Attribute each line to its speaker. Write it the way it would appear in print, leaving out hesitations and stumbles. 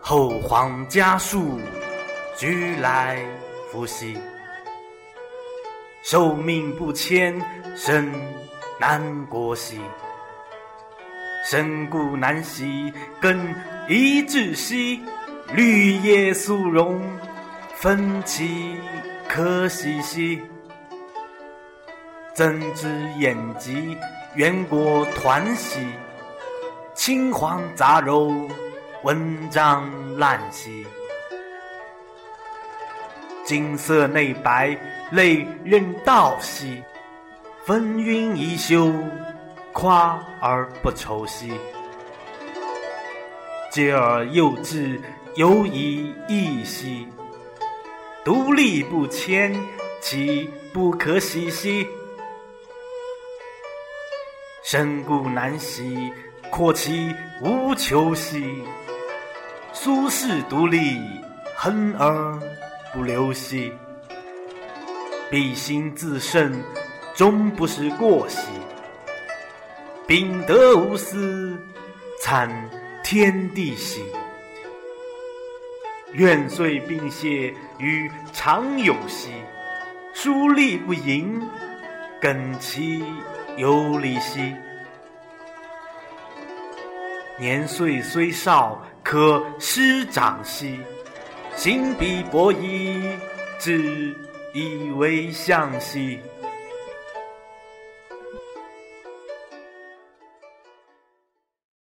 Speaker 1: 后皇家属俱来复习，受命不迁，身难过兮。身故难兮，更宜窒息。绿叶苏荣，分其可惜兮。增之眼疾，远国团兮。青黄杂糅，文章烂兮。金色内白，泪任道兮。风云一休，夸而不愁兮。嗟而幼稚，犹以异兮。独立不迁，其不可喜兮。身故难兮，阔其无求兮。苏轼独立，恒而不流兮。必心自胜，终不是过兮。秉德无私，参天地兮。愿遂并谢于常有兮。疏利不盈，耿其有礼兮。年岁虽少，可师长兮。行必博矣，志以为象兮。